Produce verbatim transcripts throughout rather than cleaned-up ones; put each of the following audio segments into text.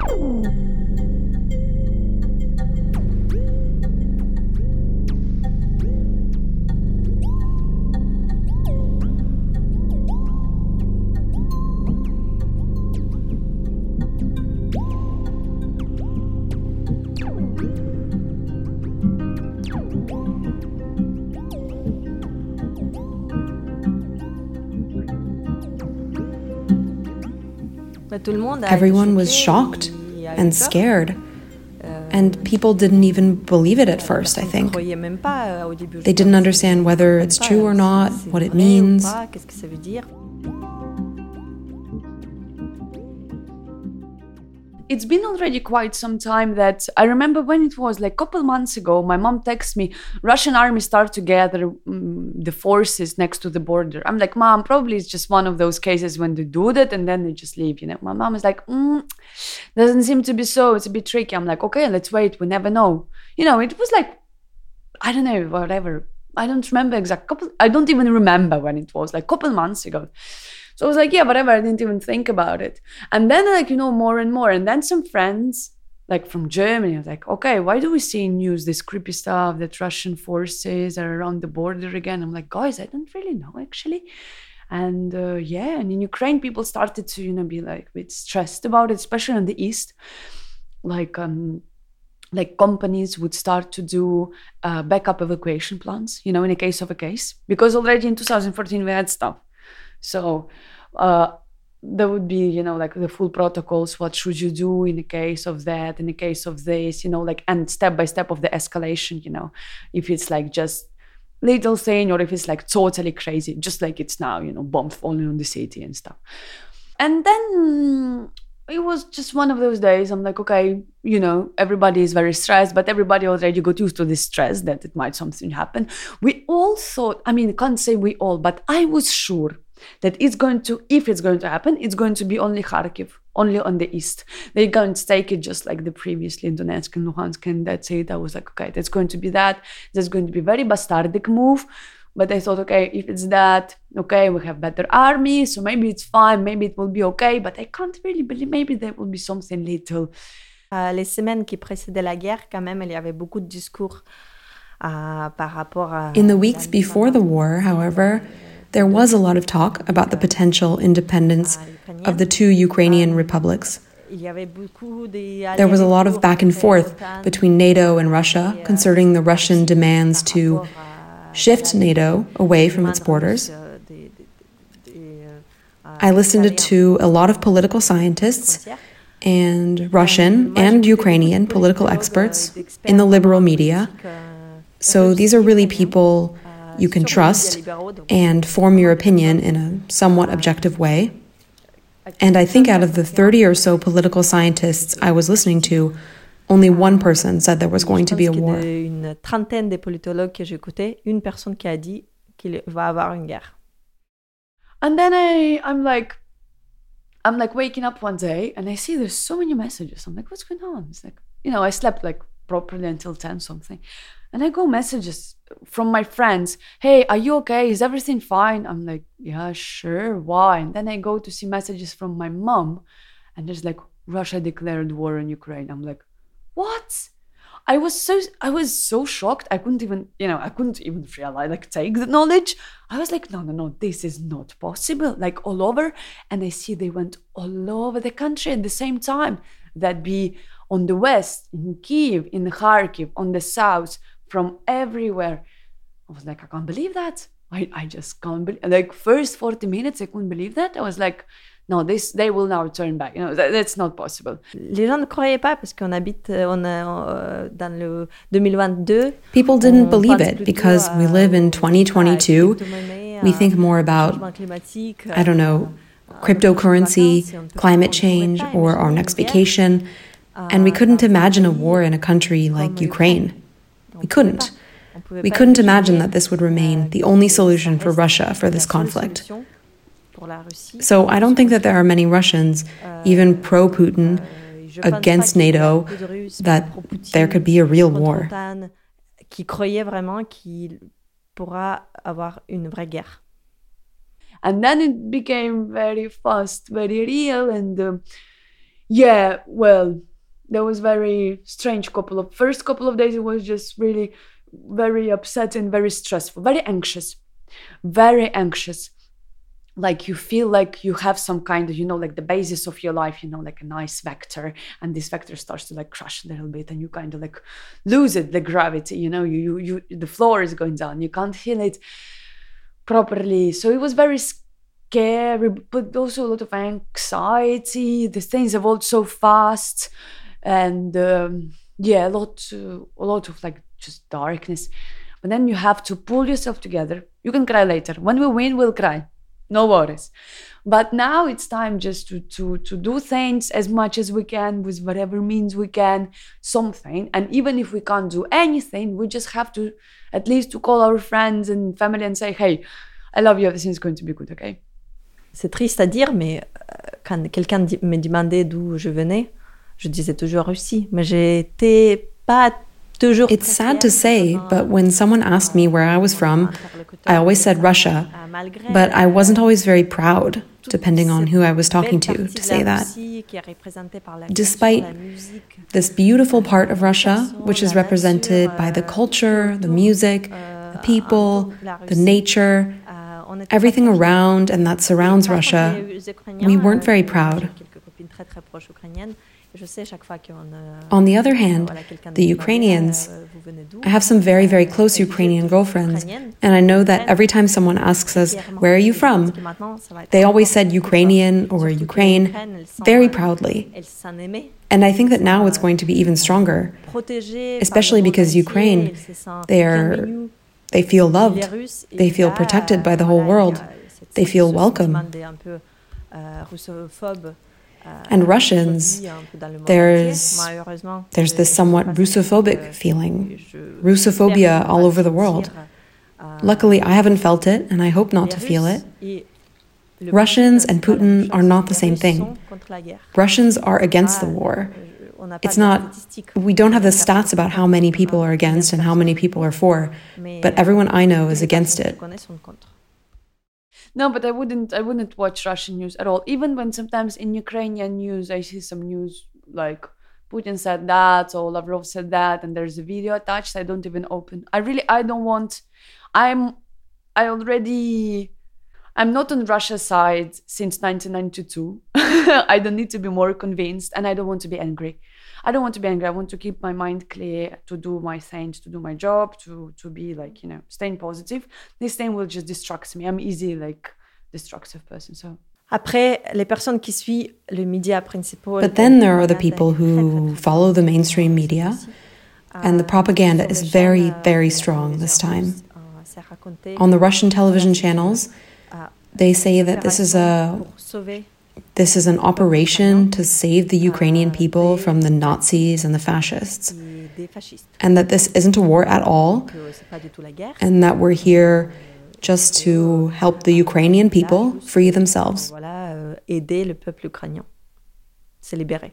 Everyone was shocked and scared, and people didn't even believe it at first, I think. They didn't understand whether it's true or not, what it means. It's been already quite some time that I remember when it was like a couple months ago, my mom texted me, Russian army start to gather um, the forces next to the border. I'm like, Mom, probably it's just one of those cases when they do that and then they just leave, you know. My mom is like, mm, doesn't seem to be so, it's a bit tricky. I'm like, okay, let's wait, we never know. You know, it was like, I don't know, whatever. I don't remember exact couple, I don't even remember when it was, like a couple months ago. So I was like, yeah, whatever, I didn't even think about it. And then like, you know, more and more. And then some friends, like from Germany, I was like, okay, why do we see in news this creepy stuff that Russian forces are around the border again? I'm like, guys, I don't really know actually. And uh, yeah, and in Ukraine, people started to, you know, be like a bit stressed about it, especially in the East. Like, um, like companies would start to do uh, backup evacuation plans, you know, in a case of a case. Because already in two thousand fourteen, we had stuff. So uh, there would be, you know, like the full protocols. What should you do in the case of that, in the case of this, you know, like, and step by step of the escalation, you know, if it's like just little thing or if it's like totally crazy, just like it's now, you know, bombs falling on the city and stuff. And then it was just one of those days. I'm like, okay, you know, everybody is very stressed, but everybody already got used to this stress that it might something happen. We all thought, I mean, I can't say we all, but I was sure that it's going to, if it's going to happen, it's going to be only Kharkiv, only on the east. They're going to take it just like the previously in Donetsk and Luhansk, and that's it. I was like, okay, that's going to be that. That's going to be a very bastardic move. But I thought, okay, if it's that, okay, we have better army, so maybe it's fine, maybe it will be okay, but I can't really believe, maybe there will be something little. Uh, les semaines qui précédaient la guerre, quand même, il y avait beaucoup de discours uh, par rapport à... In the weeks before the war, however, there was a lot of talk about the potential independence of the two Ukrainian republics. There was a lot of back and forth between NATO and Russia concerning the Russian demands to shift NATO away from its borders. I listened to a lot of political scientists and Russian and Ukrainian political experts in the liberal media. So these are really people you can trust and form your opinion in a somewhat objective way. And I think out of the thirty or so political scientists I was listening to, only one person said there was going to be a war. Une trentaine des politologues que j'écoutais, une personne qui a dit qu'il va avoir une guerre. And then I, I'm like, I'm like waking up one day and I see there's so many messages. I'm like, what's going on? It's like, you know, I slept like properly until ten something. And I go messages from my friends. Hey, are you okay? Is everything fine? I'm like, yeah, sure. Why? And then I go to see messages from my mom. And there's like, Russia declared war on Ukraine. I'm like, what? I was so I was so shocked. I couldn't even, you know, I couldn't even realize, like, take the knowledge. I was like, no, no, no, this is not possible. Like all over. And I see they went all over the country at the same time. That be on the west, in Kyiv, in Kharkiv, on the south, from everywhere. I was like, I can't believe that. I, I just can't believe, like first forty minutes, I couldn't believe that. I was like, no, this, they will now turn back. You know, that, that's not possible. Les gens ne croyaient pas parce qu'on habite on a, dans le twenty twenty-two. People didn't believe it because we live in twenty twenty-two. We think more about, I don't know, cryptocurrency, climate change, or our next vacation. And we couldn't imagine a war in a country like Ukraine. We couldn't. We couldn't imagine that this would remain the only solution for Russia for this conflict. So I don't think that there are many Russians, even pro-Putin, against NATO, that there could be a real war. Qui croyaient vraiment qu'il pourra avoir une vraie guerre. And then it became very fast, very real, and uh, Yeah, well, there was very strange couple of first couple of days. It was just really very upsetting, very stressful, very anxious, very anxious. Like you feel like you have some kind of, you know, like the basis of your life, you know, like a nice vector, and this vector starts to like crash a little bit, and you kind of like lose it, the gravity, you know, you you, you the floor is going down, you can't feel it properly. So it was very scary, but also a lot of anxiety. The things evolved so fast, and um, yeah, a lot, uh, a lot of like just darkness. But then you have to pull yourself together. You can cry later. When we win, we'll cry. No worries. But now it's time just to, to, to do things as much as we can with whatever means we can, something. And even if we can't do anything, we just have to at least to call our friends and family and say, hey, I love you, everything's going to be good, okay? C'est triste à dire, mais quand quelqu'un me demandait d'où je venais, je disais toujours Russie. Mais j'étais pas toujours. It's sad to say, but when someone asked me where I was from, I always said Russia, but I wasn't always very proud, depending on who I was talking to, to say that. Despite this beautiful part of Russia, which is represented by the culture, the music, the people, the nature, everything around and that surrounds Russia, we weren't very proud. On the other hand, the Ukrainians, I have some very, very close Ukrainian girlfriends, and I know that every time someone asks us, where are you from? They always said Ukrainian or Ukraine, very proudly. And I think that now it's going to be even stronger, especially because Ukraine, they are, they feel loved, they feel protected by the whole world, they feel welcome. And Russians, there's, there's this somewhat Russophobic feeling, Russophobia all over the world. Luckily, I haven't felt it, and I hope not to feel it. Russians and Putin are not the same thing. Russians are against the war. It's not, we don't have the stats about how many people are against and how many people are for, but everyone I know is against it. No, but I wouldn't I wouldn't watch Russian news at all. Even when sometimes in Ukrainian news I see some news like Putin said that or Lavrov said that and there's a video attached, I don't even open. I really I don't want I'm I already I'm not on Russia's side since nineteen ninety-two. I don't need to be more convinced, and I don't want to be angry. I don't want to be angry. I want to keep my mind clear, to do my things, to do my job, to to be like, you know, staying positive. This thing will just distract me. I'm easy like destructive person. So. Après, les personnes qui suivent le média principal. But then there are the people who follow the mainstream media, and the propaganda is very, very strong this time. On the Russian television channels, they say that this is a this is an operation to save the Ukrainian people from the Nazis and the fascists, and that this isn't a war at all, and that we're here just to help the Ukrainian people free themselves. Aider le peuple ukrainien, se libérer.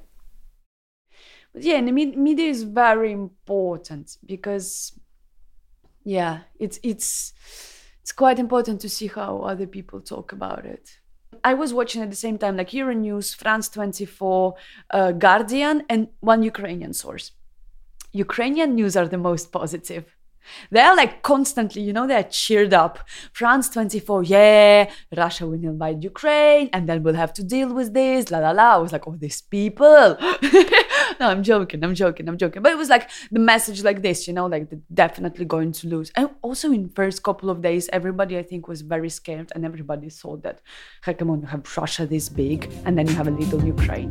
But yeah, and the media is very important because, yeah, it's it's it's quite important to see how other people talk about it. I was watching at the same time, like Euronews, France twenty-four, uh, Guardian, and one Ukrainian source. Ukrainian news are the most positive. They're like constantly, you know, they're cheered up. France twenty-four, yeah, Russia will invade Ukraine, and then we'll have to deal with this, la la la. I was like, oh, these people. No, I'm joking, I'm joking, I'm joking. But it was like the message like this, you know, like they're definitely going to lose. And also in first couple of days, everybody, I think, was very scared, and everybody thought that, hey, come on, you have Russia this big, and then you have a little Ukraine.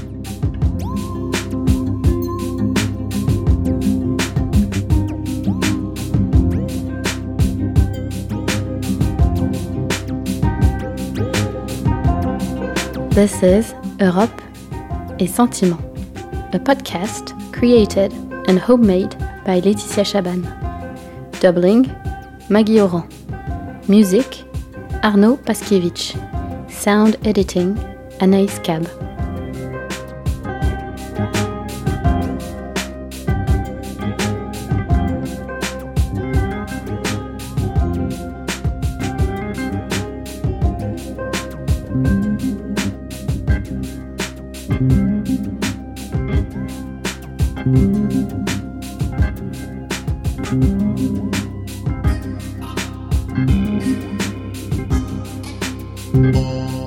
This is Europe et Sentiment, a podcast created and homemade by Laetitia Chaban. Doubling, Maggie Oran. Music, Arnaud Paskiewicz. Sound editing, Anaïs Cab. Thank you. Thank you.